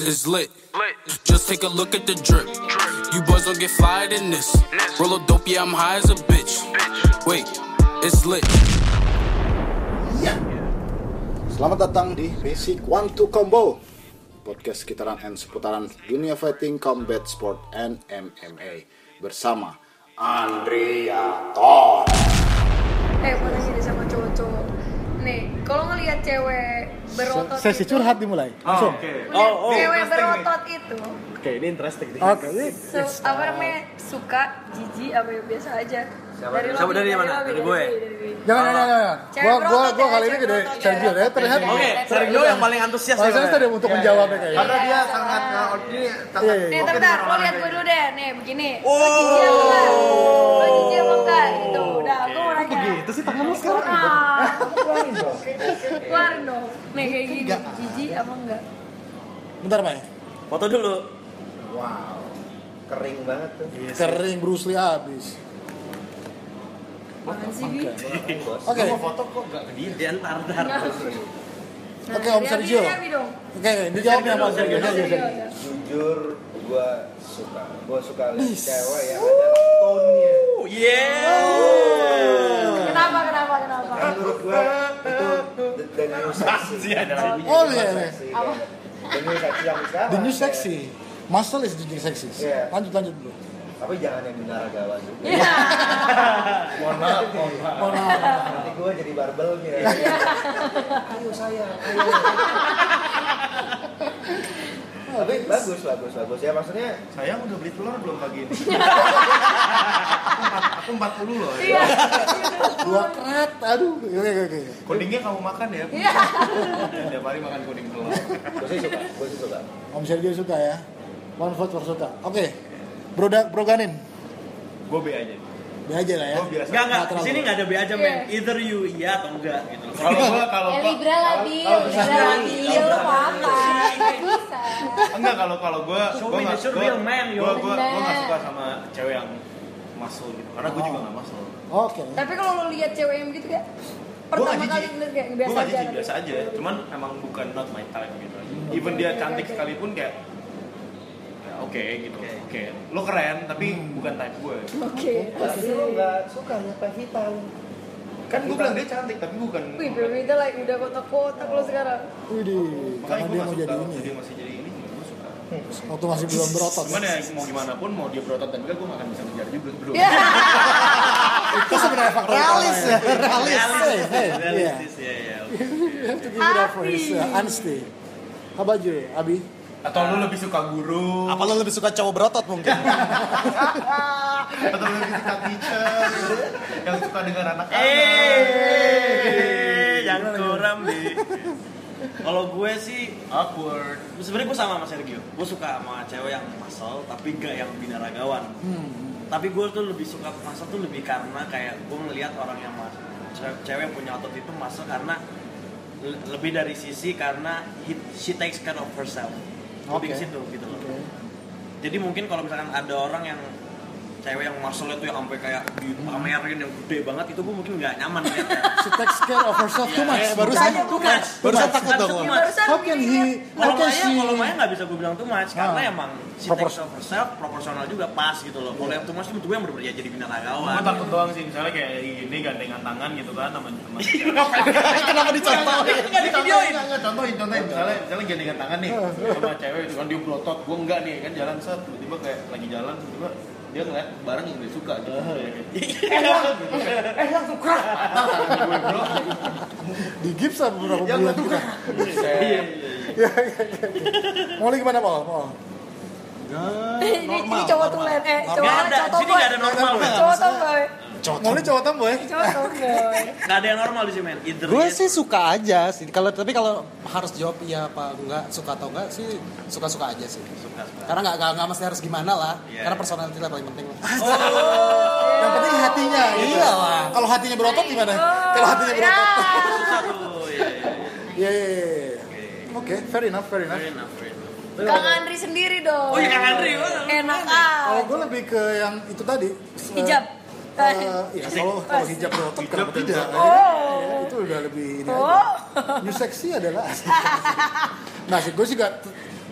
It's lit. Just take a look at the drip. You boys don't get fired in this. Roll a dope, yeah, I'm high as a bitch. Wait, it's lit. Selamat datang di Basic 1-2 Combo, podcast sekitaran and seputaran dunia fighting, combat sport, and MMA bersama Andriator. Mau nanya deh sama cowok-cowok. Nih, kalau ngelihat cewek berotot Sesi itu, curhat dimulai. Langsung. cewek berotot itu, Oke, ini interesting nih. apa namanya, suka, jijik, apa yang biasa aja. Dari mana? Dari gue. Jangan. Gua kali ini gede Sergio ya terlihat. Oke, Sergio yang paling antusias Maksudnya tadi untuk menjawabnya kayaknya. Karena dia sangat Nih, bentar, lo lihat gue dulu deh. Nih, begini. Lo jijik apa enggak? Gitu. Udah, gue mau nanya. Begitu sih tanganmu sekarang. Keluarin dong. Nih, kayak gini. Jijik apa enggak? Bentar, Mai. Foto dulu. wow, kering banget tuh. Kering Bruce Lee habis. Apaan sih, Bi? Oke. Mau foto kok enggak ke dia? Dia ntar. Oke, Om Sergio. Oke, dijawabnya sama Sergio. Jujur gue suka lihat cewek yang ada tone-nya. Kenapa? Menurut gue itu the new sexy. Oh iya. The new sexy yang sekarang. The new sexy. Muscle is the new sexy. Iya. Lanjut dulu. Tapi jangan yang binaragawan juga. Iya. Mohon maaf. Nanti gue jadi barbelnya. Ayo sayang, ayo. Tapi bagus ya, maksudnya Sayang udah beli telur belum pagi ini? Aku 40 loh. Iya. Dua kerat. Aduh. Oke. Kuningnya kamu makan ya? Iya. Tiap hari makan kuning telur. gue sih suka. Om Sergio suka ya. One vote for suka. Oke. Bro Ganin. Gue B aja. Be aja lah ya. Gue biasa. Enggak, terlalu. di sini enggak ada B aja, men. Either you iya atau enggak gitu. Kalau Libra lah, Bil. Lo apa? Bisa. enggak kalau gue Show me the real man, yo. gue nggak suka sama cewek yang muscle gitu. Karena gue juga nggak muscle. Oke. Tapi kalau lo lihat cewek yang gitu kayak pertama kali ngeliat kayak Gue biasa nggak aja. jijik, biasa aja. Cuman emang bukan not my type gitu. Even dia cantik sekalipun kayak oke gitu. Oke. Lo keren tapi bukan type gue. Oke. Tapi lo nggak suka nyapa hitam. Kan gue bilang dia cantik tapi bukan. Wih, Bebita like udah kotak-kotak lo sekarang. Widih, Makanya karena gue dia nggak mau suka jadi waktu ini. dia masih jadi ini. Gue suka. Waktu masih belum berotot. Cuman ya mau gimana pun, mau dia berotot dan enggak, gue gak akan bisa ngejar juga belum. Itu sebenarnya faktor realis ya. Realistis ya. To give it up for his honesty. How about you, Abi? Atau lu lebih suka guru? Apa lo lebih suka cowok berotot mungkin? Atau lu lebih suka teacher? Yang suka dengan anak-anak? Yang kurang di. Kalau gue sih Awkward. sebenarnya gue sama Sergio. Gue suka sama cewek yang muscle tapi gak yang binaragawan. Tapi gue tuh lebih suka muscle tuh lebih karena kayak gue ngelihat orang yang cewek yang punya otot itu muscle karena lebih dari sisi karena she takes care of herself. Lebih ke situ gitu loh. Jadi mungkin kalau misalkan ada orang yang cewek yang muscle itu yang sampai kayak dipamerin yang gede banget, itu gue mungkin nggak nyaman ya. She takes care of herself too much. Barusan takut dong. How can she? Kalau Maya nggak bisa gue bilang too much karena emang she takes care of herself proporsional juga pas gitu loh. Kalau yang too much itu gue yang bener-bener ya jadi binaragawan. Gue takut doang sih, misalnya kayak gini gandengan tangan gitu kan sama teman. Kenapa dicontohin? Nggak divideoin. Enggak, contohin misalnya gandengan tangan nih sama cewek itu kan dia berotot, gue enggak nih kan jalan set tiba-tiba kayak lagi jalan tiba-tiba dia ngeliat barang yang dia suka gitu. Yang suka. Di gips beberapa bulan kita. Mau lagi gimana, Paul? Ini cowok tulen, Nggak ada, di sini nggak ada normal. Cowok tomboy. Mau nih cowok tomboy? Cowok tomboy. Nggak ada yang normal di sini, men. Gue sih suka aja sih. Tapi kalau harus jawab iya apa enggak, suka atau enggak sih suka-suka aja sih. Suka. Karena enggak mesti harus gimana lah. Yeah. Karena personality lah paling penting. Yang penting hatinya. Gitu. Iya lah. Kalau hatinya berotot gimana? Kalau hatinya berotot. Susah tuh. Iya. Oke, fair enough. Fair enough. Kang Andri sendiri dong. Oh iya, Kang Andri. Enak Kalau gue lebih ke yang itu tadi. Hijab. Iya, kalau hijab berotot kenapa tidak? Itu udah lebih ini aja. New sexy adalah. Nah, sih gue juga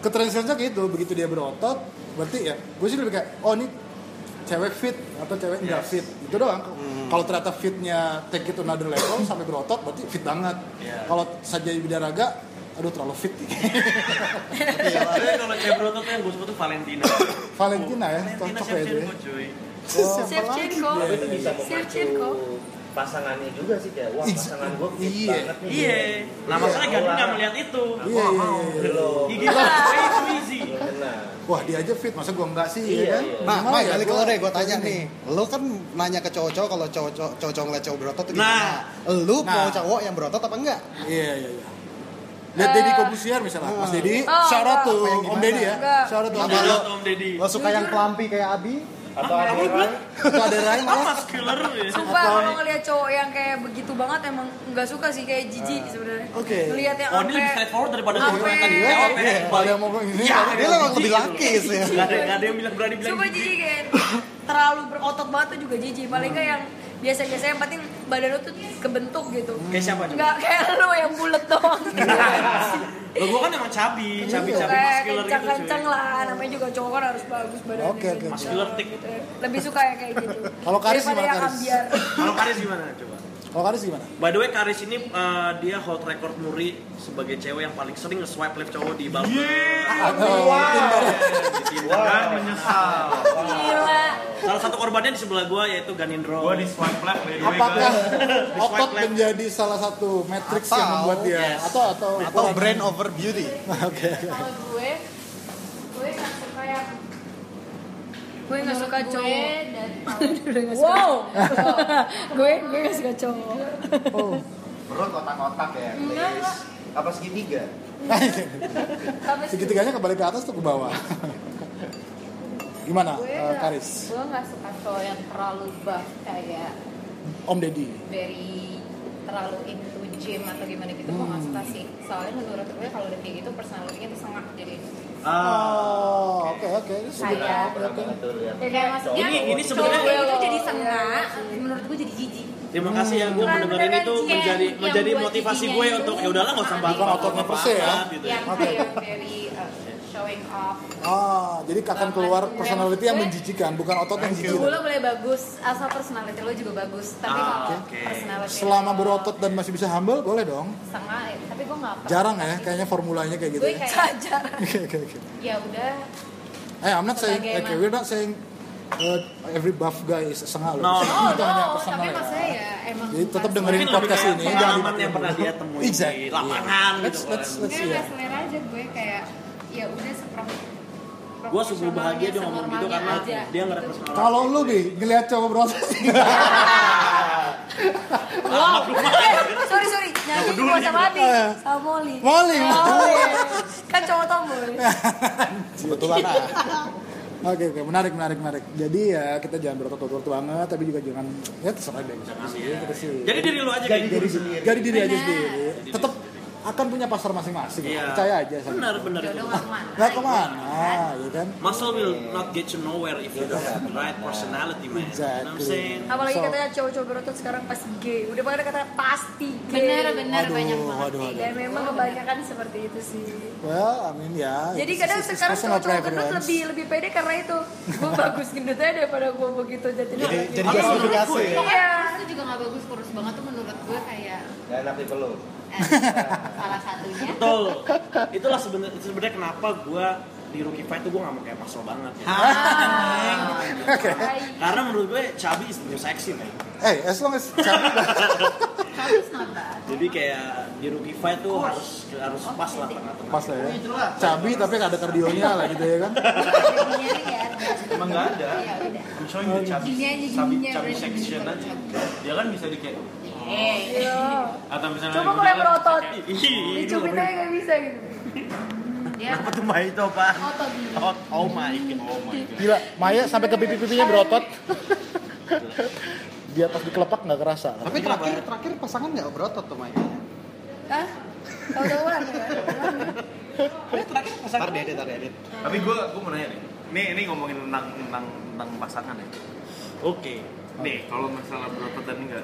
Ketranslasinya gitu, begitu dia berotot, berarti ya, gue sih lebih kayak, oh ini cewek fit atau cewek enggak fit, itu doang. Kalau ternyata fitnya take it to another level sampai berotot, berarti fit banget. Kalau saja bidaraga, aduh terlalu fit. Tapi kalau cewek berotot yang gue suka tuh Valentina. Valentina ya, Valentina cocok ya dia. Shevchenko cuy. Shevchenko. Tapi itu bisa Shevchenko. memacu pasangannya juga sih kayak wah pasangan gue fit Iya. banget nih. Iya. Nah masalahnya Gandhi nggak melihat itu. Iya. Belum. Gigi way too easy. Benar. Wah dia aja fit, masa gue enggak sih, Iya, ya kan? iya. Nah, Gimana Mai, ya, balik ke gua- lo deh, gue tanya nih. Lo kan nanya ke cowok-cowok kalau cowok ngeliat cowok berotot tuh gimana? Nah. Lo mau Nah. cowok yang berotot apa enggak? Iya. Lihat Deddy Kobusier misalnya, Mas Deddy, shout out to Apa yang Om gimana? Deddy ya, Enggak. shout out to Om Apa Deddy. lo? Om Deddy. Lo suka yang kelampi kayak Abi? Atau ada orang Atau ada Rai malah. Muscular ya. Sumpah kalau ngeliat cowok yang kayak begitu banget emang nggak suka sih, kayak jijik sebenarnya. Oke. Ngeliat yang Oh ini lebih straightforward daripada Ampe- cowok yang tadi. Iya, Iya, kalau yang mau ini, Dia emang lebih laki sih. Gak ada yang bilang berani bilang. Sumpah jijik kan. Terlalu berotot banget tuh juga jijik. Paling nggak yang biasa-biasa, yang penting badan lu tuh kebentuk gitu. Kayak siapa coba? Nggak kayak lu yang bulat doang. Lo gue kan emang cabi Kayak muscular gitu kencang-kencang cuy. lah. Namanya juga cowok kan harus bagus badannya. Oke, oke. Muscular thick. Lebih suka yang kayak gitu. Kalau Karis Daripada gimana, yang Karis? ambiar. Kalau Karis gimana coba? Kalau Karis gimana? By the way, Karis ini dia hold record muri sebagai cewek yang paling sering nge-swipe left cowok di Bumble. Dan menyesal. Gila. Salah satu korbannya di sebelah gua yaitu Ganindro. Gua di swipe left by the way, Apakah guys. otot menjadi salah satu matriks yang Atau- membuat dia atau Atau ukuran- brain over beauty? Oke. Kalau gue nggak suka yang gue nggak suka cowok. Wow. gue nggak suka cowok. Oh. perut otak-otak ya. Enggak, please. Apa segitiga? Tapi Segitiganya kembali ke atas tuh ke bawah. Gimana, gue Karis? nggak suka cowok yang terlalu buff kayak Om Deddy. very terlalu into gym atau gimana gitu. Gue nggak suka sih, soalnya menurut gue kalau udah kayak gitu personality-nya tuh sengak jadi Oh, oke. Ini Kayak- Pernah banget tuh lihat. ya kayak maksudnya Ini cowok sebenarnya- kayak gitu jadi sengak, menurut gue jadi jijik. Terima kasih ya gue Bukan, mendengarin beneran itu sih, yang menjadi buat motivasi giginya gue itu untuk ya udahlah nggak usah bahas Bukan ototnya per se ya. gitu. Yang Oke. kayak very showing off. Jadi akan keluar personality yang menjijikan, bukan otot yang jijik. Gue lo boleh bagus, asal personality lo juga bagus. Tapi kalau oke. personality Selama lo berotot dan masih bisa humble, boleh dong. setengah, tapi gue nggak pernah. Jarang ya, kayaknya formulanya kayak gitu. Gue Ya. kayak Oke. ya udah. I'm not saying, Sebagai we're not saying every buff guy is sengal. No, Itu hanya personal Tapi ya. maksudnya ya emang. Jadi tetap bukan dengerin Mungkin lebih podcast kayak ini, pengalaman yang pernah dia temuin di Exactly. lapangan Let's gitu. let's Gue see nggak ya. selera aja gue kayak ya udah Gue sungguh bahagia dia ngomong gitu karena dia nggak represent orang. Kalau lu nih ngelihat cowok berotot, wow. Sorry. Nyanyi gue sama Adi, sama Molly. Molly. Kan cowok tomboy. Kebetulan Oke, menarik. Jadi ya kita jangan berotot banget, tapi juga jangan ya terserah deh. Kita sih. Jadi diri lu aja kayak gitu. Jadi diri aja sendiri. Tetap akan punya pasar masing-masing. Iya. Percaya aja sama. Benar itu. jodoh nggak kemana. Nggak kemana, ya kan? Muscle will not get you nowhere if you don't have the right personality, man. You know what I'm saying? Apalagi So- katanya cowok-cowok berotot sekarang pasti gay. Udah pada kata pasti gay. Bener banyak banget Waduh. sih. Dan memang kebanyakan seperti itu sih. Well, I mean ya. Jadi it's- kadang it's sekarang personal cowok-cowok gendut preference. lebih pede karena itu. Gue bagus gendutnya daripada gue begitu jadi jadi. justifikasi ya. Iya. Itu juga nggak bagus, kurus banget tuh menurut gue kayak Gak enak dipeluk. salah satunya. Betul. Itulah sebenarnya kenapa gue di Rookie Fight tuh gue gak mau kayak muscle banget. Karena menurut gue chubby is the new sexy, man. As long as Habis not bad. Jadi kayak di Rookie Fight tuh harus pas lah tengah-tengah. pas lah ya. Cabi tapi nggak ada kardionya lah gitu ya kan. Giginya nih ya. Emang nggak ada. Ya udah. I'm showing you chubby Giginya section aja. Dia kan bisa di kayak Iya. atau misalnya Coba kalau yang berotot. Ih, Dicubit aja gak bisa gitu. Dia apa tuh Mai itu apa? otot gini. Oh my god. Gila, Maya sampai ke pipi-pipinya berotot. Di atas di kelepak nggak kerasa. Tapi terakhir pasangan nggak berotot tuh Mai. Hah? Tahu-tahuan ya? Tar diedit. Tapi gue mau nanya nih. Ini ngomongin tentang pasangan ya. Oke. Nih, kalau masalah berotot dan enggak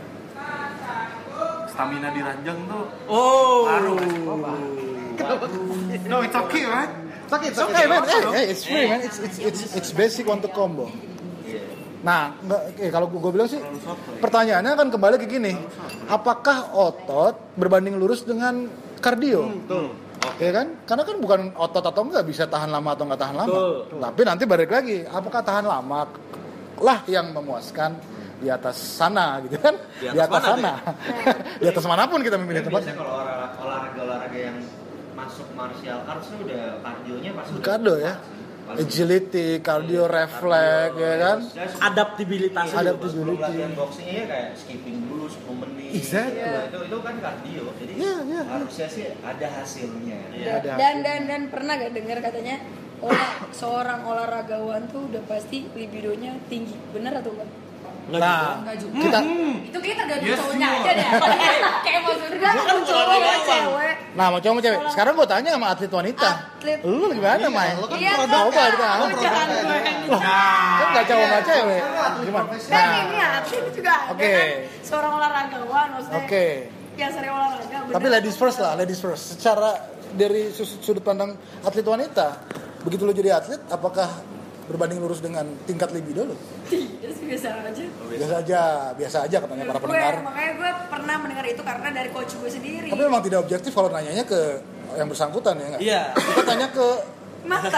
stamina di ranjang tuh Oh. ngaruh. No, it's okay, right? Sakit. Okay, man. Hey, it's free, man. It's basic untuk combo. Nah, kalau gue bilang sih, pertanyaannya kan kembali ke gini, apakah otot berbanding lurus dengan kardio? Ya kan? Karena kan bukan otot atau enggak bisa tahan lama atau enggak tahan lama. Tapi nanti balik lagi, apakah tahan lama lah yang memuaskan di atas sana gitu kan? Di atas sana. Di atas manapun kita memilih tempat. Biasanya kalau olahraga yang masuk martial arts itu udah kardionya pasti udah Kardio ya. Agility, cardio, refleks, ya kan? Adaptabilitas. Sebelum latihan boxingnya kayak skipping dulu 10 menit. Exactly. Itu kan kardio. Jadi harusnya sih ada hasilnya. Dan pernah gak dengar katanya seorang olahragawan tuh udah pasti libidonya tinggi, bener atau enggak? Nah, Kita itu kayak tergantung cowoknya aja deh. Kayak maksudnya cowok sama cewek. Nah, mau cowok mau cewek. Sekarang gue tanya sama atlet wanita. Lu gimana, Mai? Lu kan Iya, Coba kita. jangan gue yang gitu. Kan enggak cowok enggak cewek. Gimana? Kan ini atlet juga ada Oke. kan seorang olahragawan maksudnya. Oke. Yang sering olahraga. Tapi ladies first. Secara dari sudut pandang atlet wanita, begitu lo jadi atlet, apakah berbanding lurus dengan tingkat libido lo? Tidak sih, biasa aja katanya para pendengar. Makanya gue pernah mendengar itu karena dari coach gue sendiri. Tapi memang tidak objektif kalau nanyanya ke yang bersangkutan ya nggak? Iya. Kita tanya ke mantan.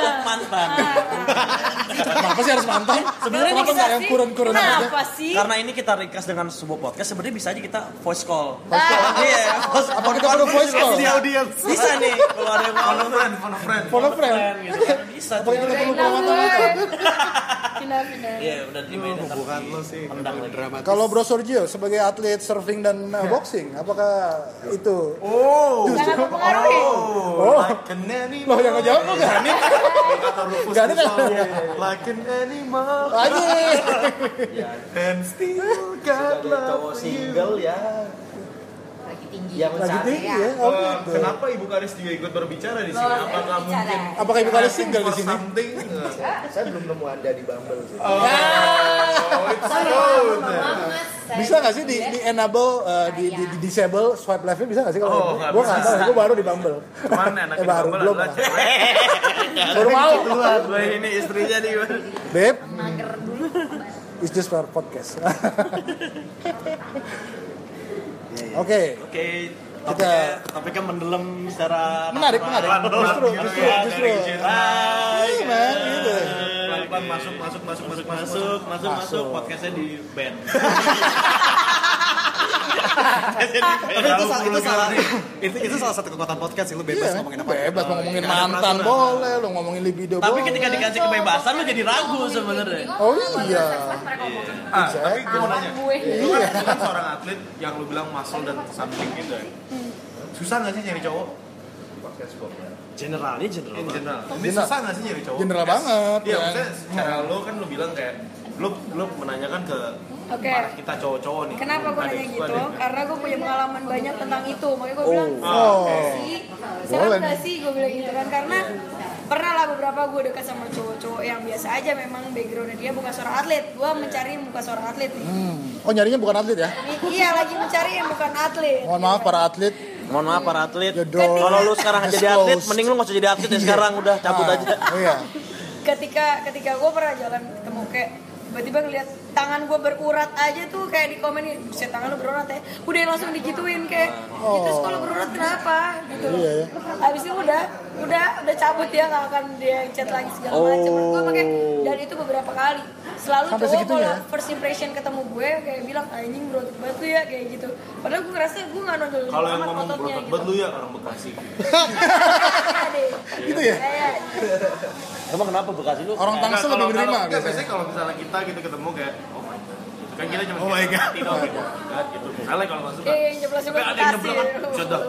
kenapa sih harus mantan? Sebenarnya kenapa bisa nggak yang sih? kurun-kurun aja? Kenapa sih? Karena ini kita request dengan sebuah podcast, sebenarnya bisa aja kita voice call. Iya. Apa kita perlu voice call? Di audience. Bisa nih kalau ada yang mau Phone a friend. gitu kan. Bisa Apa tuh. kita perlu pengamatan? Pindah. Iya, udah terima itu. Bukan lo sih. Dramatis. Kalau Bro Sorgio sebagai atlet surfing dan boxing, apakah itu? Sangat mempengaruhi. Loh yang ngejawab lo gak nih? Gak nih kan? Like an animal Aja. and still got Sebagai cowok love single ya. Lagi tinggi. Yang Lagi mencari. tinggi ya? Oh gitu. Kenapa Ibu Karis juga ikut berbicara di sini? Apakah mungkin Apakah ibu kalian single di for sini? something? Saya belum nemu Anda di Bumble sih. Oh, it's good. Bisa nggak sih di enable di disable swipe left-nya bisa nggak sih kalau? Oh, nggak Gue nggak bisa. tahu, gue baru di Bumble. Cuman enaknya baru Bumble belum. adalah cewek. Baru mau. Gue ini istrinya nih. Beb, it's just for podcast. Oke, Oke, Kita- topiknya mendalam secara menarik. Justru. Hai, Man, gitu. Pelan-pelan masuk. Podcastnya di band. Tapi itu salah satu kekuatan podcast sih, lu bebas ngomongin apa. Bebas mau ngomongin mantan boleh, lo ngomongin libido Tapi boleh. ketika dikasih kebebasan lu jadi ragu sebenarnya. Oh iya. Tapi gue mau nanya, Gue. lu kan seorang atlet yang lu bilang muscle dan something gitu ya. Susah nggak sih nyari cowok? Generalnya In general. Ini susah nggak sih nyari cowok? General banget, Iya, kan? maksudnya secara lu kan lu bilang kayak lu menanyakan ke Oke. para kita cowok-cowok nih. Kenapa gue Ada nanya yang gitu? suka nih. Karena gue punya pengalaman banyak tentang itu. Makanya gue bilang, Oh. sih, serem Boleh gak nih. sih? Gue bilang gitu kan. Karena pernah lah beberapa gue dekat sama cowok-cowok yang biasa aja. Memang backgroundnya dia bukan seorang atlet. Gue mencari muka seorang atlet nih. Oh nyarinya bukan atlet ya? Iya, lagi mencari yang bukan atlet. Mohon maaf para atlet. Mohon maaf para atlet. Jodoh. Kalau lu sekarang jadi atlet, Disclose. mending lu nggak usah jadi atlet ya sekarang, udah cabut Ah, aja. Iya. Ketika gue pernah jalan ketemu kayak tiba-tiba ngeliat tangan gue berurat aja tuh kayak di komen, buset tangan lu berurat ya, udah langsung digituin kayak gitu, kalau berurat kenapa gitu. Iya, iya. Habis itu udah cabut ya, nggak akan dia chat lagi segala macam. Gue makanya dan itu beberapa kali selalu Sampai cowok segitunya? kalau first impression ketemu gue kayak bilang anjing berotot banget lu ya kayak gitu, padahal gue ngerasa gue nggak nonjol Kalau yang amat ngomong ototnya berotot gitu. banget lu ya orang Bekasi. Iya deh. Gitu ya? Kayak Emang kenapa Bekasi lu? Orang Tangsel lebih menerima Enggak, biasanya. biasanya kalau misalnya kita gitu ketemu kayak oh my god. Kan kita cuma Oh my god. tidak gitu. Misalnya kalau nggak suka. yang jelas-jelas Tapi ada yang Bekasi. nyeblak, sudah.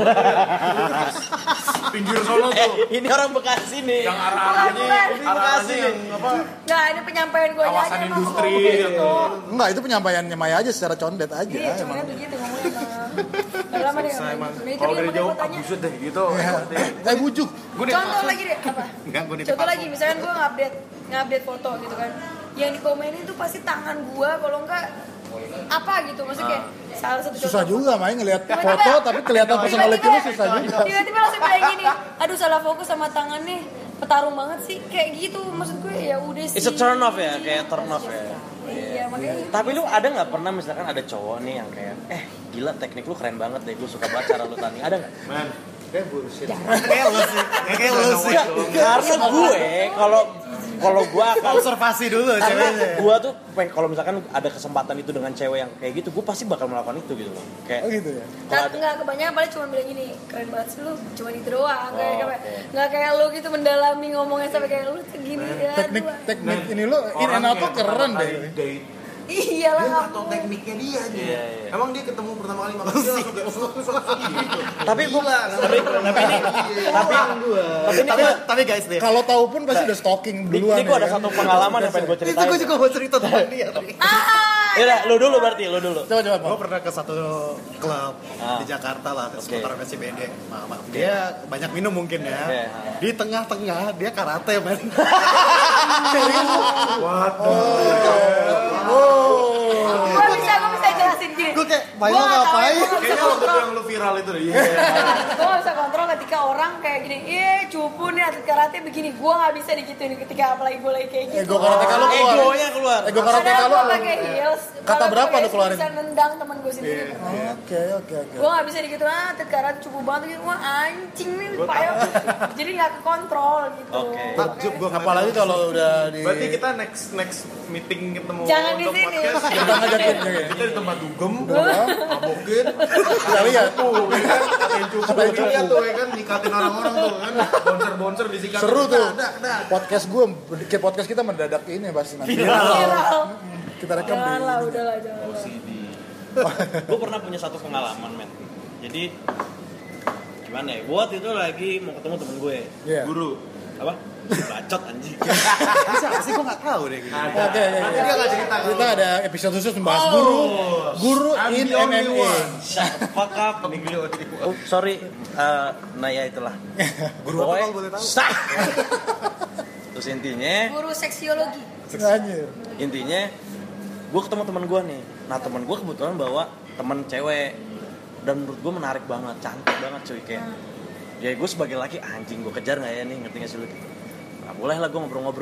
Pinggir sono tuh. Ini orang Bekasi nih. Yang arah-arahnya Bekasi yang apa? Nah ini penyampaian gue Kawasan aja emang industri ngomong gitu. Enggak, itu penyampaiannya Maya aja secara condet aja. Iya, cuma emang. begitu ngomongnya mah. Udah lama deh Saya ngomong emang gitu. Nah, itu kalau dia dari makanya jauh gue tanya. abusut deh gitu. Bujuk. Contoh lagi deh apa? Contoh lagi misalkan gue ngupdate foto gitu kan. Yang dikomenin tuh pasti tangan gue, kalau enggak apa gitu maksudnya kayak salah satu Susah contoh. juga main ngelihat Tiba-tiba- foto tapi kelihatan personality lu susah juga. Tiba-tiba langsung kayak gini, aduh salah fokus sama tangannya, petarung banget sih, kayak gitu maksud gue ya udah sih. It's a turn off ya, kayak turn off ya. Iya makanya. Tapi lu ada nggak pernah misalkan ada cowok nih yang kayak, gila teknik lu keren banget deh, gue suka banget cara lu tanding, ada nggak? Man, kayak bullshit. Kayak lu sih. Karena gue kalau gue akan Observasi dulu karena ceweknya. gue tuh kalau misalkan ada kesempatan itu dengan cewek yang kayak gitu, gue pasti bakal melakukan itu gitu loh. Kayak Oh gitu ya. kalau ada Nggak kebanyakan paling cuma bilang gini, keren banget sih lu, cuma itu doang. Kayak oke. nggak kayak lu gitu mendalami ngomongnya sampai kayak lu segini ya. Teknik ini lu in and out tuh keren deh. Date, Iya dia lah. nggak tahu tekniknya dia aja. Iya. Emang dia ketemu pertama kali makan dia langsung kayak gitu. tapi gue Tapi guys deh. Kalau tahu pun pasti udah stalking ini duluan. gue ada ya kan? satu pengalaman yang pengen gue Itu ceritain. gue juga mau cerita tentang dia. Ya lu dulu berarti, lu dulu. Coba Gue Pak. pernah ke satu klub di Jakarta lah, seputaran SCBD. Maaf, dia banyak minum mungkin ya. Oke. Di tengah-tengah dia karate men. Gue bisa jelasin gini. Gue kayak, Gua Mayo nggak tahu, ngapain? gua nggak bisa Kayaknya waktu itu yang lu viral itu deh. Iya. Gue gak bisa kontrol ketika orang kayak gini, cupu nih atlet karate begini. Gue gak bisa digituin ketika apalagi gue lagi kayak gitu. Ego karate kalau keluar. Egonya keluar. Ego karate Padahal kalau gue pakai heels. Kata kalau berapa gua lu keluarin? bisa nendang teman gue sendiri. Oke. Gue gak bisa digituin, atlet karate cupu banget gitu. Wah anjing nih, payo. Jadi gak kekontrol gitu. Oke. Takjub gue Apalagi kalau udah di Berarti kita next meeting ketemu Jangan di untuk sini. podcast. kita ngajakin ya. Kita di tempat dugem, mabokin, Kita lihat. tuh, ya kan, katain cupu, lihat tuh, ya kan, nikatin orang-orang tuh, kan, boncer-boncer disikat. Seru tuh. Dah. Podcast gue, kayak podcast kita mendadak ini pasti nanti. Viral. Kita rekam di. Janganlah, udahlah, janganlah. Gue pernah punya satu pengalaman men. Jadi gimana ya? Gue waktu itu lagi mau ketemu temen gue. Iya. Guru. Apa? Bacot anjing. bisa sih gue nggak tahu deh. Gitu. Oke. Dia nggak cerita. Kita ada episode khusus membahas guru in MMA. Fuck up. Oh, sorry. Nah ya itulah. Guru apa kalau boleh tahu? Sah. Terus intinya Guru seksiologi. Anjir. gue ketemu teman gue nih. Nah teman gue kebetulan bawa teman cewek dan menurut gue menarik banget, cantik banget cuy kayak. Ya gue sebagai laki anjing gue kejar nggak ya nih, ngerti nggak sih lu gitu. Nah boleh lah gue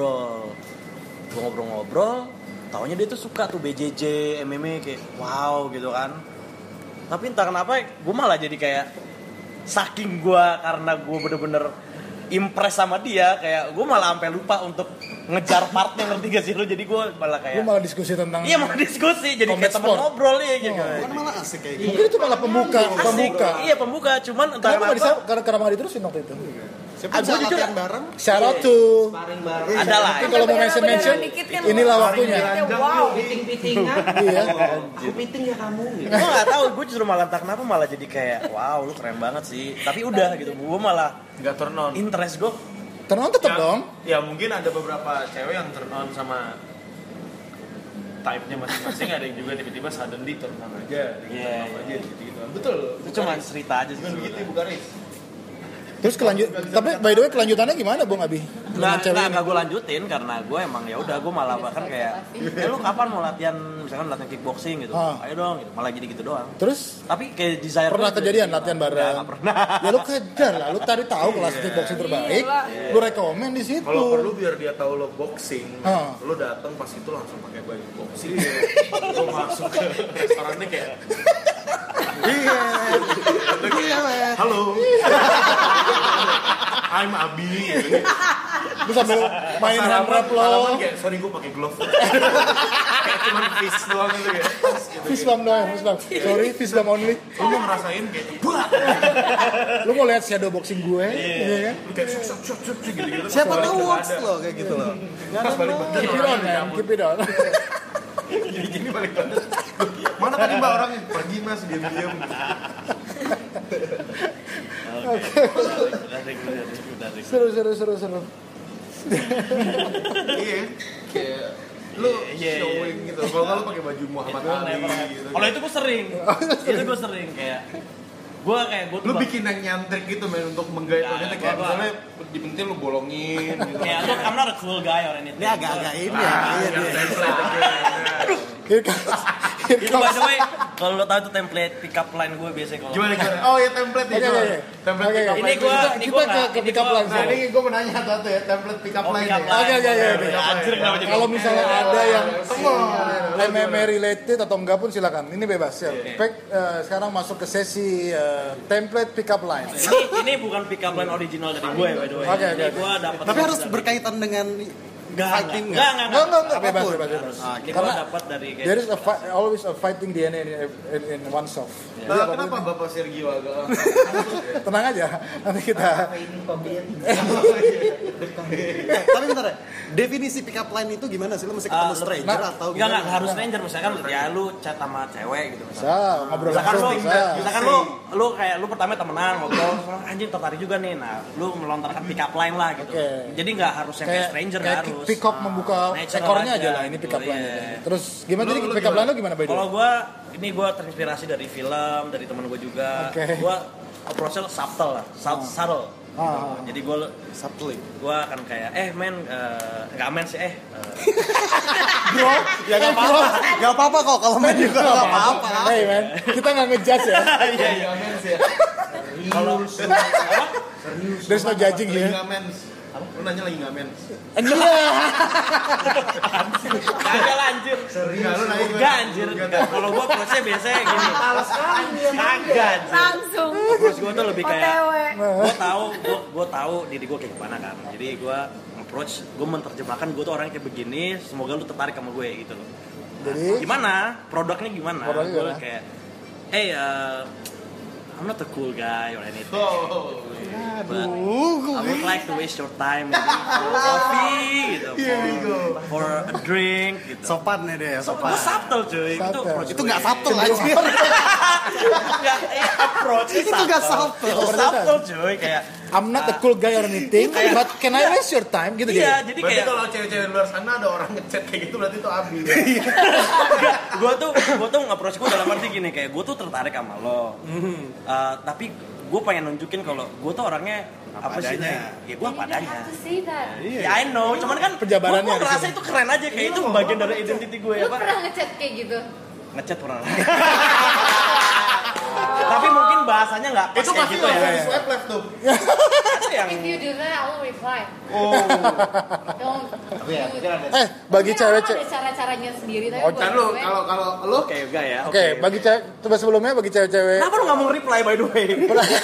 ngobrol-ngobrol. Taunya dia tuh suka tuh BJJ, MMA kayak wow gitu kan. Tapi entah kenapa gue malah jadi kayak saking gue karena gue bener-bener impress sama dia kayak gue malah sampai lupa untuk ngejar partnya, ngerti gak sih lu? Jadi gue malah kayak Lu malah diskusi tentang. iya malah diskusi jadi Combat kayak temen sport. ngobrol ya gitu. Bukan malah asik kayak gitu. Mungkin itu malah pembuka. Iya pembuka, cuman entah Kenapa nggak kenapa bisa? Karena nggak diterusin waktu itu. Siapa bisa Gua jujur- latihan bareng? Shout out to. Sparring bareng. ada lah. Tapi kalau mau mention, Beneran dikit kan, inilah lu. waktunya. Wow. Piting-pitingan. Iya. Aku piting ya kamu gitu. Gue nggak tahu, gue justru malah entah kenapa malah jadi kayak wow lu keren banget sih. Tapi udah gitu, gue malah Nggak turn on. interest gue. Turn on tetap Ya, dong. Ya mungkin ada beberapa cewek yang turn on sama type-nya masing-masing, ada yang juga tiba-tiba suddenly turn on aja, Iya, turn off aja gitu. Betul. Itu cuma cerita aja sih. Cuman begitu bukan Riz. Terus tapi by the way kelanjutannya gimana Bung Abi? Dengan cewek ini? Nggak gue lanjutin karena gue emang ya udah gue malah bahkan kayak lu kapan mau latihan misalkan latihan kickboxing gitu, ayo dong gitu. Malah jadi gitu doang. Terus Tapi kayak desire pernah gue kejadian gitu. latihan bareng? Nggak pernah. Ya lu kejar lah, lu cari tahu kelas kickboxing terbaik, lu rekomen di situ. Kalau perlu biar dia tahu lo boxing, Ah. lo datang pas itu langsung pakai baju boxing. Lo masuk ke restorannya kayak halo, I'm Abi. Lu sambil main hand rap lo. Salaman kayak sorry gue pakai glove. Kayak cuman fist doang gitu ya. Fist bump doang, fist bump. Sorry, fist bump only. Lo mau ngerasain kayak buat. Lu mau lihat shadow boxing gue, iya kan? Lo kayak shuk gitu-gitu. Siapa tahu works lo kayak gitu loh. Pas balik badan Keep it on, man. Keep it on. gini balik badan. Mana tadi mbak orangnya? Pergi mas, diam-diam. Seru. Iya. Kayak lo showing gitu. Kalau nggak lo pakai baju Muhammad Ali gitu. Kalau itu gue sering. Itu gue sering kayak gue Lu bikin yang nyantrik gitu men untuk menggait wanita kayak misalnya di pentil lu bolongin gitu. kayak lu I'm not a cool guy or anything. Ini agak-agak ini ya. Iya dia. Here comes Itu by the way, kalau lo tahu itu template pick up line gue biasanya kalau. Gimana? Oh ya template nih. Template pick up line. Ini gue ke pick up line. Nah, ini gue mau nanya satu ya, template pick up line. Oke. Anjir kenapa jadi? Kalau misalnya ada yang MMA related atau enggak pun silakan. Ini bebas ya. Sekarang masuk ke sesi template pick up line. Ini bukan pick up line original dari gue by the way. Oke. Gue dapat. Tapi harus berkaitan dengan fighting Enggak. Bebas. Ini gue dapat dari There is always a fighting DNA in oneself. Kenapa Bapak Sergio agak Tenang aja, nanti kita. Tapi bentar ya, definisi pick up line itu gimana sih? Lo mesti ketemu stranger atau gimana? Enggak harus stranger, misalkan ya lu chat sama cewek gitu Ngobrol langsung. Misalkan lu kayak lu pertama temenan ngobrol, anjing tertarik juga nih. Nah, lu melontarkan pick up line lah gitu. Jadi enggak harus yang kayak stranger, enggak harus. Pick up membuka ekornya aja lah, ini pick up line. Terus gimana jadi pick up line lo gimana, Bay? Kalau gue terinspirasi dari film, dari teman gue juga. Gue approach-nya subtle lah, subtle. Jadi gue subtly. Gue akan kayak, nggak men sih, bro, ya nggak apa-apa kok kalau main juga nggak apa-apa. Hey man, kita nggak ngejudge ya. Iya men sih. Kalau there's no judging here. Lu nanya lagi nggak men? Kagak lanjut. Serius? Lu nanya enggak anjir. Kalau gua approach-nya biasanya gini. Kagak. Langsung. Approach gua tuh lebih kayak gua tahu diri gua kayak gimana kan. Jadi gua approach, gua menerjemahkan gua tuh orangnya kayak begini, semoga lu tertarik sama gue gitu loh. Jadi gimana? Produknya gimana? Gua kayak I'm not a cool guy or anything. But I would like to waste your time maybe for coffee gitu, for a drink gitu. Sopan nih deh, sopan. Itu subtle cuy. Itu nggak subtle aja. Approach itu nggak subtle. Itu subtle cuy kayak I'm not a cool guy or anything, but can I waste your time gitu iya, jadi. Jadi berarti kayak kalau cewek-cewek luar sana ada orang ngechat kayak gitu berarti itu Abi. Gue tuh nge-approach gue dalam arti gini kayak gue tuh tertarik sama lo. Tapi gue pengen nunjukin kalau gue tuh orangnya apa sih? Ya gue apa adanya. Ya I know, cuman kan Penjabarannya gue ngerasa itu keren aja kayak itu bagian dari identity gue ya Lu Pak. pernah ngechat kayak gitu? Ngechat pernah. Tapi mungkin bahasanya nggak pas Itu kayak pasti gitu ya. langsung di swipe left tuh. Ada yang If you do that, I will reply. Don't. Bagi cewek Ada cara-caranya sendiri tapi buat Kan lu gue, kalau lu oke enggak ya. Oke, bagi cewek coba sebelumnya bagi cewek-cewek. Kenapa lu nggak mau reply by the way?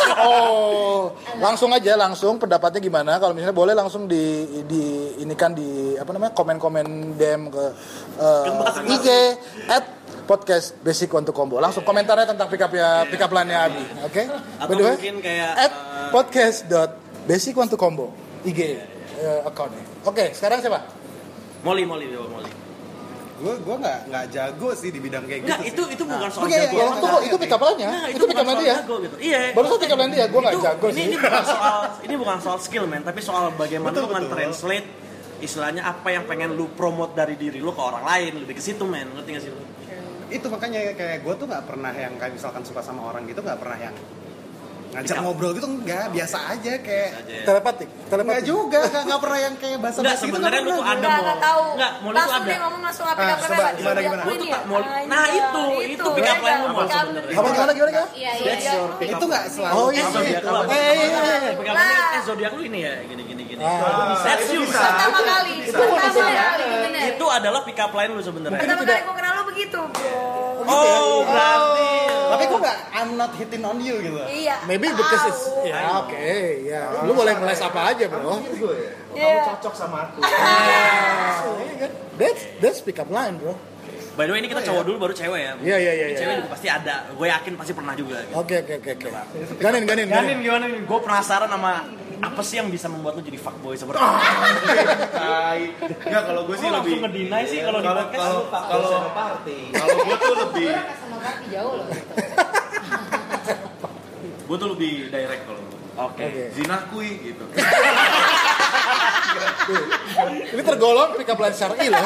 langsung pendapatnya gimana? Kalau misalnya boleh langsung inikan di apa namanya komen-komen DM ke IG @podcast Basic One to Combo. Langsung komentarnya tentang pick up line-nya Abi. Oke? Atau mungkin kayak @podcast.basic One to Combo IG account-nya. Oke, sekarang siapa? Molly. Gue nggak jago sih di bidang kayak Enggak, gitu. itu bukan soal Oke, jago. itu pick up line-nya. Nah, Itu pick up line dia. Gitu. Iya. Barusan pick up line dia, gue nggak jago sih. Ini bukan soal skill men, tapi soal bagaimana lu translate istilahnya apa yang pengen lu promote dari diri lu ke orang lain, lebih ke situ men, ngerti nggak sih lu? Itu makanya kayak gue tuh nggak pernah yang kayak misalkan suka sama orang gitu, nggak pernah yang ngajak ngobrol gitu, enggak, biasa aja kayak Telepatik. enggak juga, nggak pernah yang kayak bahasa Enggak, gitu. sebenarnya lu tuh ada Nggak tahu. Enggak, mau lu tuh Langsung ada. dia ngomong langsung pick up coba, line. gimana? Gua tuh tak mau. Nah, itu pick up line lu mau sebenarnya. Gimana? Iya. Itu nggak selalu. Oh iya. Zodiac lu apa? Pick up line zodiak lu ini ya, gini. That's you. Pertama kali. Itu adalah pick up line lu sebenarnya. Pertama kali gue kenal lu begitu, bro. Oh, berarti. Tapi gue nggak, I'm not hitting on you gitu. Iya. Maybe because it's Lu boleh ngeles apa aja, bro. Iya. cocok sama aku. That's pick up line, bro. By the way, ini kita cowok dulu baru cewek ya. Iya. Cewek juga pasti ada. Gue yakin pasti pernah juga. Gitu. Oke. Ganin. Ganin gimana nih? Gue penasaran sama apa sih yang bisa membuat lu jadi fuckboy seperti itu? Enggak, kalau gue sih Lu lebih langsung ngedeny sih kalau di podcast lu kalau gue tuh lebih sama party jauh loh gitu. gue tuh lebih direct kalau Oke. zina kui gitu. Ini tergolong pick up line syar'i loh.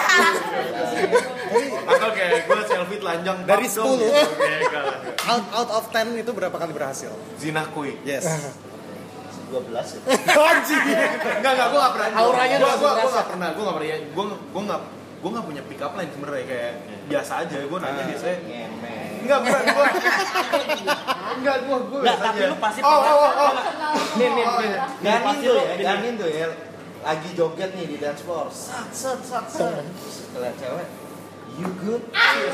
Atau kayak gue selfie telanjang Dari bab dong, 10. gitu. Kayak Out of 10 itu berapa kali berhasil? zina kui. Yes. 12. Anjing. Enggak, gue gak pernah. Auranya gue udah gak pernah. Gue gak gue nggak punya pick up line sebenarnya, kayak biasa aja gue nanya biasanya. Ngemen. Enggak gue biasa tapi aja. lu pasti Nih. Ganin tuh ya. Lagi joget nih di dance floor. Sat. Setelah cewek, you good?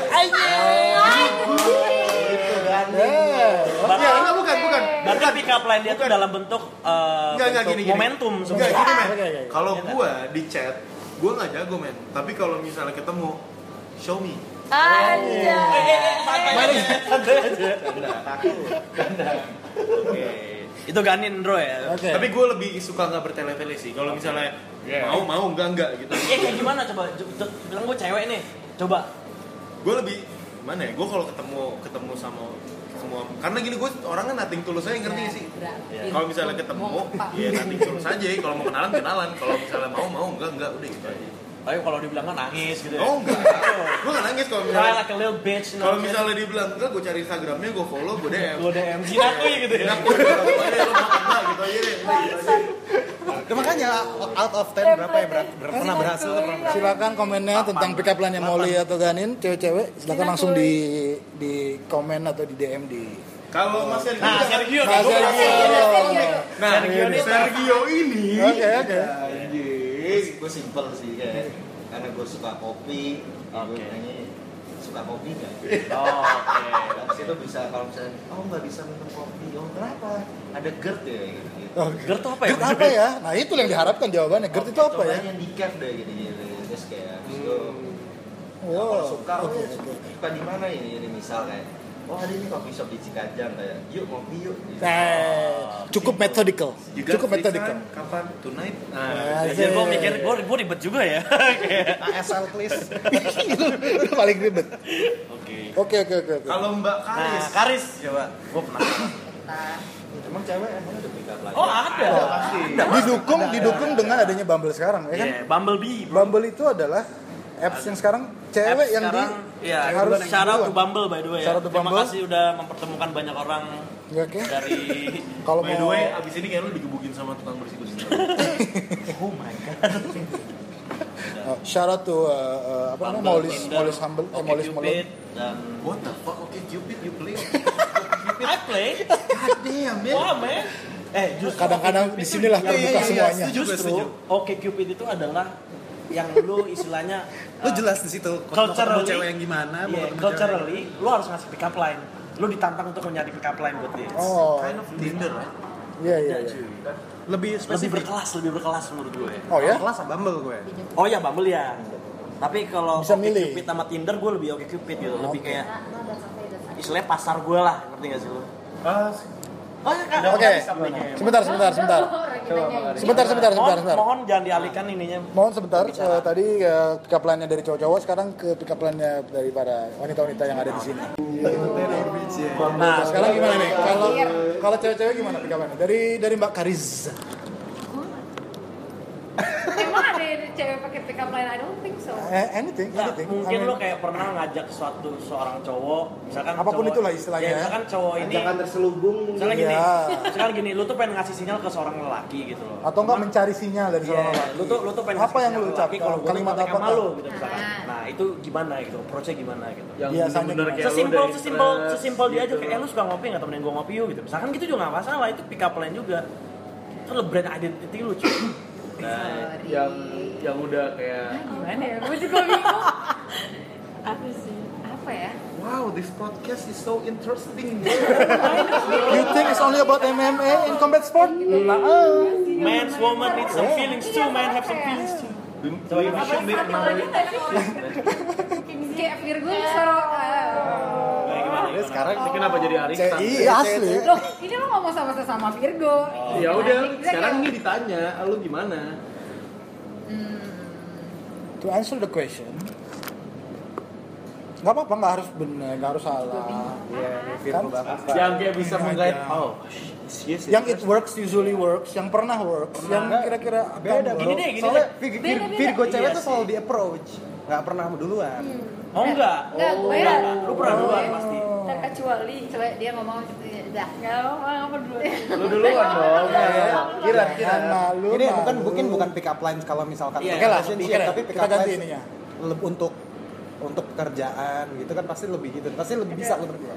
Itu Ganin. Enggak, bukan. Berarti pick up line dia tuh dalam bentuk Enggak, bentuk gini. momentum Enggak, sebenarnya. gini men. Kalau gue di chat, gue nggak jago men. Tapi kalau misalnya ketemu, show me. Anjay. Oke. Itu Ganin bro ya. Oke. Tapi gue lebih suka nggak bertele-tele sih. Kalau misalnya mau enggak gitu. Kayak gimana coba? Bilang gue cewek nih. Coba. Gue lebih gimana ya? Gue kalau ketemu sama semua, karena gini gue orangnya nothing tulus aja, ngerti gak sih? Kalau misalnya ketemu, ya nothing tulus aja. Kalau mau kenalan. Kalau misalnya mau enggak udah gitu aja. Tapi kalau dibilang kan nangis gitu ya. Oh enggak, gue nggak nangis kalau Cry misalnya. like a little bitch. Kalau misalnya dibilang enggak, gue cari Instagramnya, gue follow, gue DM. Lo DM sinakui gitu ya. Aku gitu aja, lo mau enggak gitu aja deh. Ya, makanya out of 10 berapa ya? Pernah berhasil atau pernah berhasil? Silakan komennya tentang pick up line-nya Molly atau Ganin, cewek-cewek, silakan langsung di komen atau di DM di. Kalau Mas Sergio, Nah, Sergio. Sergio ini. Oke. Gue simple sih kayak, karena gue suka kopi. Gue nanya suka kopi nggak? Oh, oke. Dari situ bisa kalau misalnya, nggak bisa minum kopi. Kenapa? Ada GERD ya gitu. GERD tuh apa ya? GERD apa ya? Nah itu yang diharapkan jawabannya. GERD itu apa ya? Cobain yang di cave deh gitu. Terus kayak, itu Wow. suka di mana ini misal kayak, ada ini coffee shop di Cikajang kayak, yuk ngopi yuk. Cukup methodical. Cukup methodical. Kapan? Tonight? Jadi gue mikir, gue ribet juga ya. ASL please. Itu paling ribet. Oke. Kalau Mbak Karis, Karis coba. Gue pernah. Emang cewek emang ada pick up line? Oh ada. pasti. Didukung dengan adanya Bumble sekarang, ya kan? Iya, Bumblebee. Bumble itu adalah apps yang sekarang cewek yang harus shout out to Bumble by the way. Shout out to Terima Bumble. kasih udah mempertemukan banyak orang Oke. dari Kalau By the mau way, abis ini kayak lu digebukin sama tukang bersih kucing. oh my god. shout out to apa namanya Molly's Humble, Molly's Cupid dan What the fuck? Oke, Cupid, you play. I play. God damn, man. Wah, man. Justru kadang-kadang di sinilah terbuka semuanya. Justru Oke Cupid itu adalah yang lu istilahnya Lu jelas di situ. culturally Mau cewek yang gimana? Mau ketemu culturally lu harus ngasih pick up line. Lu ditantang untuk mencari pick up line buat dia. Oh, Kind of Tinder, right? iya. lebih spesifik. lebih berkelas menurut gue. Oh ya? Kelas Bumble gue. Oh ya Bumble ya. Tapi kalau Bisa Oke milih. Cupid sama Tinder gue lebih Oke Cupid gitu. Lebih kayak istilahnya pasar gue lah, ngerti gak sih lu? Oh ya Kak. Oke. Sebentar. Mohon jangan dialihkan ininya. Mohon sebentar. Tadi pick up line-nya dari cowok-cowok, sekarang ke pick up line-nya dari para wanita-wanita yang ada di sini. Nah, sekarang gimana nih? Kalau cewek-cewek gimana pick up line-nya? Dari Mbak Karis. Emang ada cewek pakai pick up line? I don't think so. Anything. Mungkin lo kayak pernah ngajak seorang cowok, misalkan Apapun cowok, itulah istilahnya. Ya, misalkan cowok ini Jangan terselubung. misalkan gini, lu tuh pengen ngasih sinyal ke seorang lelaki gitu loh. Atau enggak mencari sinyal dari seorang lelaki. Lu tuh pengen apa ngasih yang sinyal lu ke lelaki ucapkan? kalau gua tuh Kalimat kontak apa? sama lu gitu misalkan. Nah, itu gimana gitu, approach-nya gimana gitu. Yang Biasanya bener-bener gimana? kayak lu udah Sesimpel dia aja gitu. kayak lu suka ngopi enggak temenin gua ngopi yuk gitu. Misalkan gitu juga enggak masalah, itu pick up line juga. Itu lo brand identity lu cuy. Nah, yang udah kayak Gimana ya? Gue juga bingung. Apa sih? Apa ya? wow, this podcast is so interesting. You think it's only about MMA in combat sport? Man's woman need some feelings too, man have some feelings too. So you should meet another. Kayak Virgo suara. Ya, sekarang ini kenapa jadi Arisan? Iya asli. Loh, ini lo ngomong sama sesama Virgo. Ya udah, sekarang ini ditanya, lu gimana? To answer the question, nggak apa-apa, nggak harus benar, nggak harus salah. Kan? Yang kayak bisa menggait. Oh, yes. Yang it works usually works, yang pernah works, yang kira-kira akan Beda work. bro. Gini deh. Soalnya Beda-beda. Virgo cewek Iya tuh sih. selalu di approach, nggak pernah duluan. Oh enggak. Enggak, gue Enggak, enggak. Lu pernah duluan pasti. Terkecuali Coba dia ngomong udah. nggak apa dulu. Lu duluan dong. Kira-kira malu. Ini bukan pick up lines kalau misalkan Iya, Oke lah, relationship, tapi pick kita up ganti lines ininya. untuk pekerjaan gitu kan pasti lebih gitu. Pasti lebih bisa lo berdua.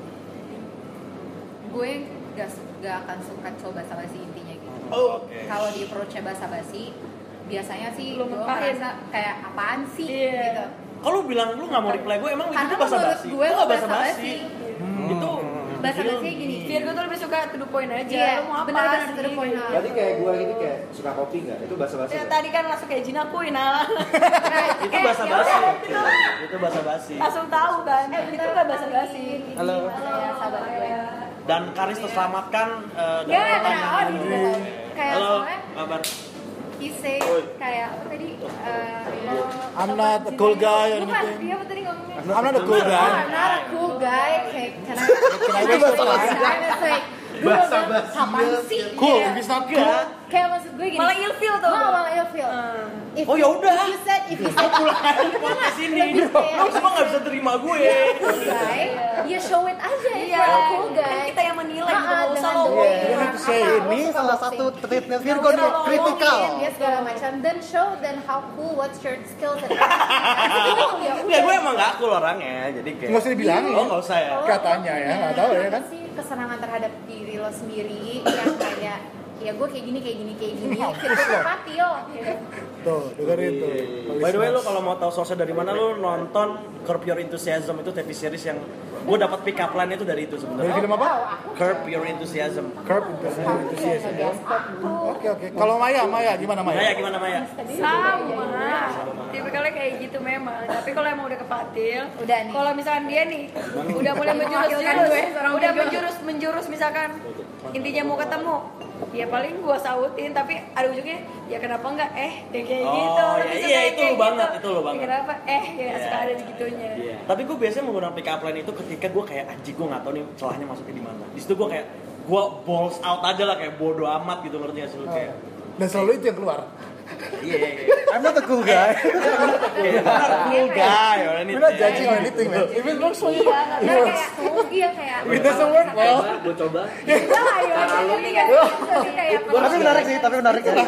Gue gak akan suka coba basa-basi intinya gitu. Oke. Kalau di approach-nya basa-basi, biasanya sih Lu gue ngepahin. merasa kayak apaan sih Iya. gitu. Kalau lu bilang lu nggak mau reply gue, emang Karena itu basa-basi? menurut gue Lu nggak basa-basi. Itu Basa-basi gini. Biar gue tuh lebih suka to the point aja. Iya, Lu mau apa benar-benar sih? to the point. Berarti kayak gue gini kayak suka kopi nggak? Itu basa-basi Ya, nggak? tadi kan langsung kayak Jin aku nah. itu basa-basi. Itu basa-basi. Langsung tahu kan. Itu gak basa-basi. Halo. Ya, sahabat gue. Dan Karis terselamatkan dari Gak, pertanyaan. kayak Halo, soalnya kabar? he say kayak apa tadi? I'm not a cool guy or Bukan, anything. dia apa tadi ngomongnya? I'm not a cool guy. Oh, I'm not a cool guy. Kayak karena Itu basa-basi. Basa-basi. Apaan sih? Cool, Iya. if it's not cool. Kayak maksud gue gini. Malah ilfeel tuh. Malah ilfeel. Oh, ya udah. If you said Podcast ini, lu semua nggak bisa terima gue. cool guy, ya show it aja. If Iya. you're a cool Kan guy. kita yang menilai gitu. Gak usah dengan lo. the way You orang have to say apa, ini lo suka salah boxing. satu treatment Virgo nih, kritikal. Dia segala macam dan show then how cool, what's your skills and Ya gue emang nggak cool orangnya, jadi kayak. Nggak usah dibilangin. Oh nggak usah ya. Katanya ya, nggak tahu ya kan. sih kesenangan terhadap diri lo sendiri yang kayak ya gue kayak gini kita patil gitu. Tuh, dengerin tuh. By the way, lu kalau mau tahu source dari mana, lu nonton Curb Your Enthusiasm, itu TV series yang gue dapat pick up line itu dari itu Dari sebenarnya. film apa? Curb Your Enthusiasm. Curb Enthusiasm. Oke. Kalau Maya gimana Maya? Maya gimana Maya? Sama. Tipikalnya kayak gitu memang. Tapi kalau emang udah kepatil, Udah nih. kalau misalkan dia nih udah mulai menjurus misalkan intinya mau ketemu, ya paling gua sautin. Tapi ada ujungnya, ya kenapa enggak? Kayak gitu. Oh, Lebih iya, suka iya, kayak itu lu gitu. banget, itu lu banget. Ya kenapa? Ya suka ada segitunya. Tapi gue biasanya menggunakan pick up line itu ketika gue kayak anjing, gue nggak tahu nih celahnya masuknya di mana. Di situ gue kayak gue balls out aja lah, kayak bodo amat gitu, ngerti gak sih lu kayak. Dan selalu itu yang keluar. Iya. I'm not a cool guy. Cool guy or anything. We're not judging or anything, man. If it works for you, Iya, it karena works. kayak If it doesn't work, well, Gue coba. Tapi menarik sih, tapi menarik ya.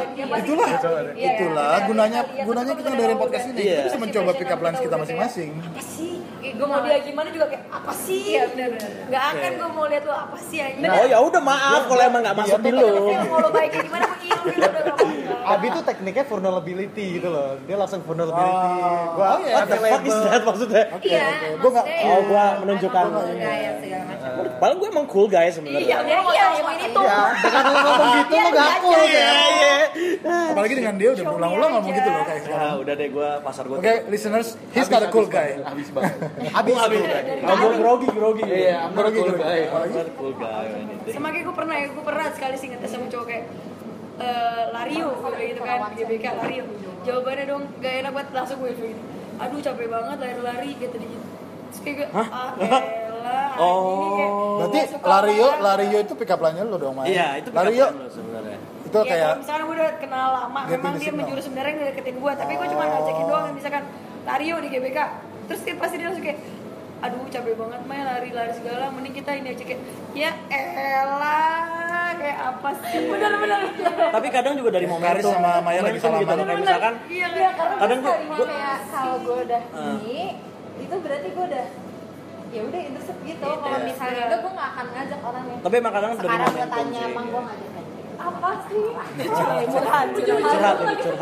itulah gunanya kita dari podcast ini. Kita bisa mencoba pick up lines kita masing-masing. Apa sih? Gue mau dia gimana juga kayak apa sih? Iya benar. Gak akan gue mau lihat lu apa sih aja. Oh ya udah maaf kalau emang nggak masuk di lu. Mau lo baik gimana mau ilmu udah gak apa-apa. Abi tuh tekniknya vulnerability gitu loh. Dia langsung vulnerability. Gua iya. What the fuck is that maksudnya? Iya. Gue nggak. Oh, gua menunjukkan. Gaya segala macam. Padahal gue emang cool guy sebenarnya. Iya, emang ini tuh. ya, dengan lo ngomong gitu lo gak cool ya. Apalagi dengan dia udah berulang-ulang ngomong gitu loh kayak sekarang. Ah, udah deh gue pasar gue. Oke, listeners, he's not a cool guy. Habis banget. Abis Oh, gue grogi. Iya, I'm not a cool guy. Cool guy. anything. Sama kayak gue pernah sekali sih ngetes sama cowok kayak Lario kayak gitu kan, GBK Lario. Jawabannya dong gak enak banget, langsung gue gini. Aduh capek banget lari-lari gitu gitu. Terus kayak gue, elah. Berarti Lario itu pick up line-nya lo dong, Maya. Iya, itu Lario sebenarnya. itu Ya, kayak kalau misalkan gue udah kenal lama, Getting memang the dia signal. menjurus sebenarnya ngedeketin gue, tapi gue cuma ngajakin doang, misalkan Lario di GBK, terus dia pasti dia langsung kayak, aduh capek banget Maya lari-lari segala, mending kita ini aja kayak, ya elah, kayak apa sih, benar-benar. Tapi kadang juga dari momentum. Karis sama Maya lagi Momentum gitu salaman. loh, kayak misalkan Iya, kadang gue kayak kalau gue udah ini itu berarti gue udah ya udah interest gitu. Kalau misalnya enggak gue nggak akan ngajak orangnya. tapi emang kadang dari Sekarang gue momentum tanya sih. emang gue ngajak aja. Apa sih? Curhat.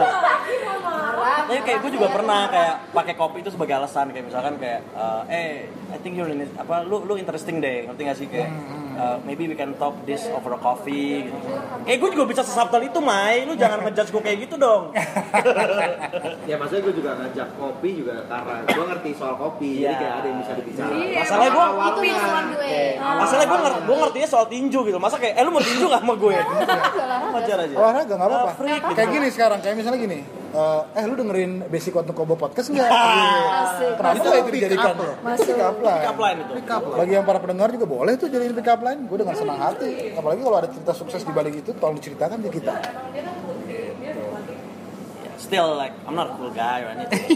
Marah. Tapi kayak gue juga pernah kayak pakai kopi itu sebagai alasan, kayak misalkan kayak I think you're in it, lu interesting deh, ngerti gak sih kayak maybe we can talk this over a coffee gitu. Kayak gue juga bisa sesubtle itu, Mai. Lu jangan ngejudge gue kayak gitu dong. Ya maksudnya gue juga ngajak kopi juga karena gue ngerti soal kopi. Jadi kayak ada yang bisa dibicarakan. Iya, Masalahnya gue Itu yang sama gue. Masalahnya gue ngertinya soal tinju gitu. Masa kayak lu mau tinju gak sama gue? Wajar aja. olahraga nggak apa-apa. Freak gitu. Kayak gini sekarang, kayak misalnya gini. Lu dengerin Basic Untuk Kobo podcast nggak? Kenapa Itu nggak itu pick dijadikan up loh. pick up line? Pick up line itu. Bagi yang para pendengar juga boleh tuh jadiin pick up line. Gue dengan senang hati. Apalagi kalau ada cerita sukses di balik itu, tolong diceritakan ke kita. Still like I'm not a cool guy or anything.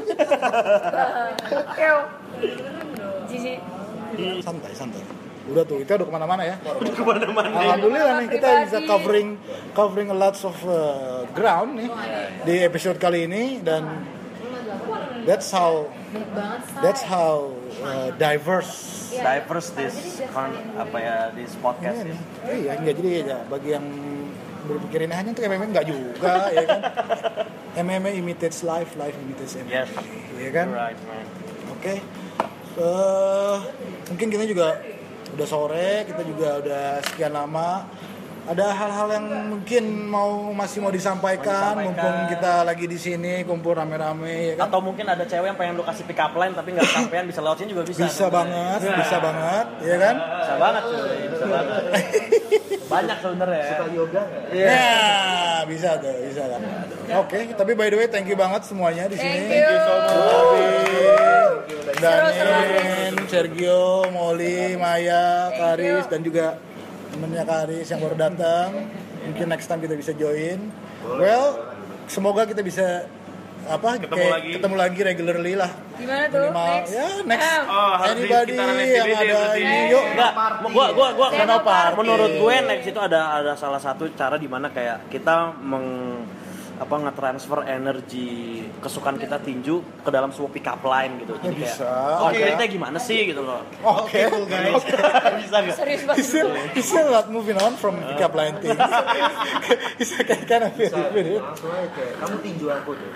Jiji. Santai. Udah tuh, kita udah kemana-mana ya. Udah kemana-mana. Alhamdulillah nih kita bisa covering a lots of ground nih di episode kali ini, dan That's how Baik banget, Say. That's how diverse. Iya. Diverse this this podcast Ini is. iya, enggak jadi ya bagi yang berpikirin hanya untuk MMA enggak juga, ya kan? MMA imitates life, life imitates MMA. Yes. Ya kan? Right, man. Oke. Mungkin kita juga udah sore, kita juga udah sekian lama. Ada hal-hal yang mungkin masih mau disampaikan, mumpung kita lagi di sini kumpul rame-rame, ya kan? Atau mungkin ada cewek yang pengen lu kasih pick up line tapi nggak kesampean, bisa lewat sini juga bisa. Bisa banget, ya kan? Bisa banget cuy, bisa banget. Banyak sebenarnya. Suka yoga nggak? Ya, bisa tuh, bisa kan. Oke, tapi by the way thank you banget semuanya di sini. Thank you so much. Danin, Sergio, Molly, Maya, Karis dan juga temennya Karis yang baru datang. Mungkin next time kita bisa join. Well, semoga kita bisa ketemu lagi regularly lah. Gimana tuh? Minimal, Next. ya next. harus di Anybody sekitaran yang SCBD ada berarti. ini yuk. Enggak, gua Senoparty. menurut gue next itu ada salah satu cara di mana kayak kita nge-transfer energi kesukaan kita tinju ke dalam sebuah pick up line gitu. Jadi kayak Bisa. konkretnya gimana sih gitu loh. Oke. Bisa enggak? Serius banget. He's still not moving on from pick up line thing. He's kind of video. Langsung aja kayak kamu tinju aku tuh.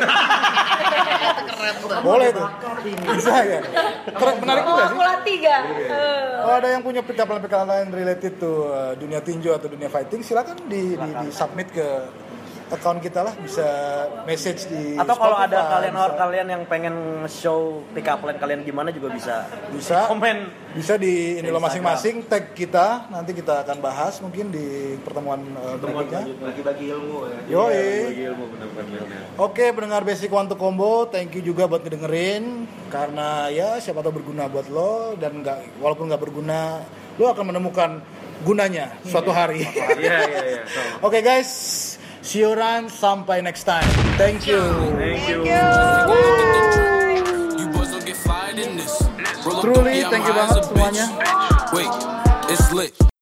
Boleh tuh. Bisa ya. Keren, menarik juga Mau sih. aku latih gak? Kalau ada yang punya pick up line related to dunia tinju atau dunia fighting, silakan di submit ke account kita lah, bisa message di Atau kalau Spotify, ada kalian yang pengen show pick up line kalian gimana juga bisa komen. Bisa di ini lo masing-masing tag kita, nanti kita akan bahas mungkin di pertemuan berikutnya. Bagi-bagi ilmu ya. Yoi. Ilmu benar-benar. Oke, pendengar Basic One to Combo, thank you juga buat ngedengerin, karena ya siapa tahu berguna buat lo, dan walaupun nggak berguna, lo akan menemukan gunanya suatu hari. Iya. Oke guys, see you around, sampai next time. Thank you. Thank you. You boys don't get fired in this. Roll up Truly, dope, yeah, I'm thank you high as banget a semuanya. bitch. Wait, it's lit.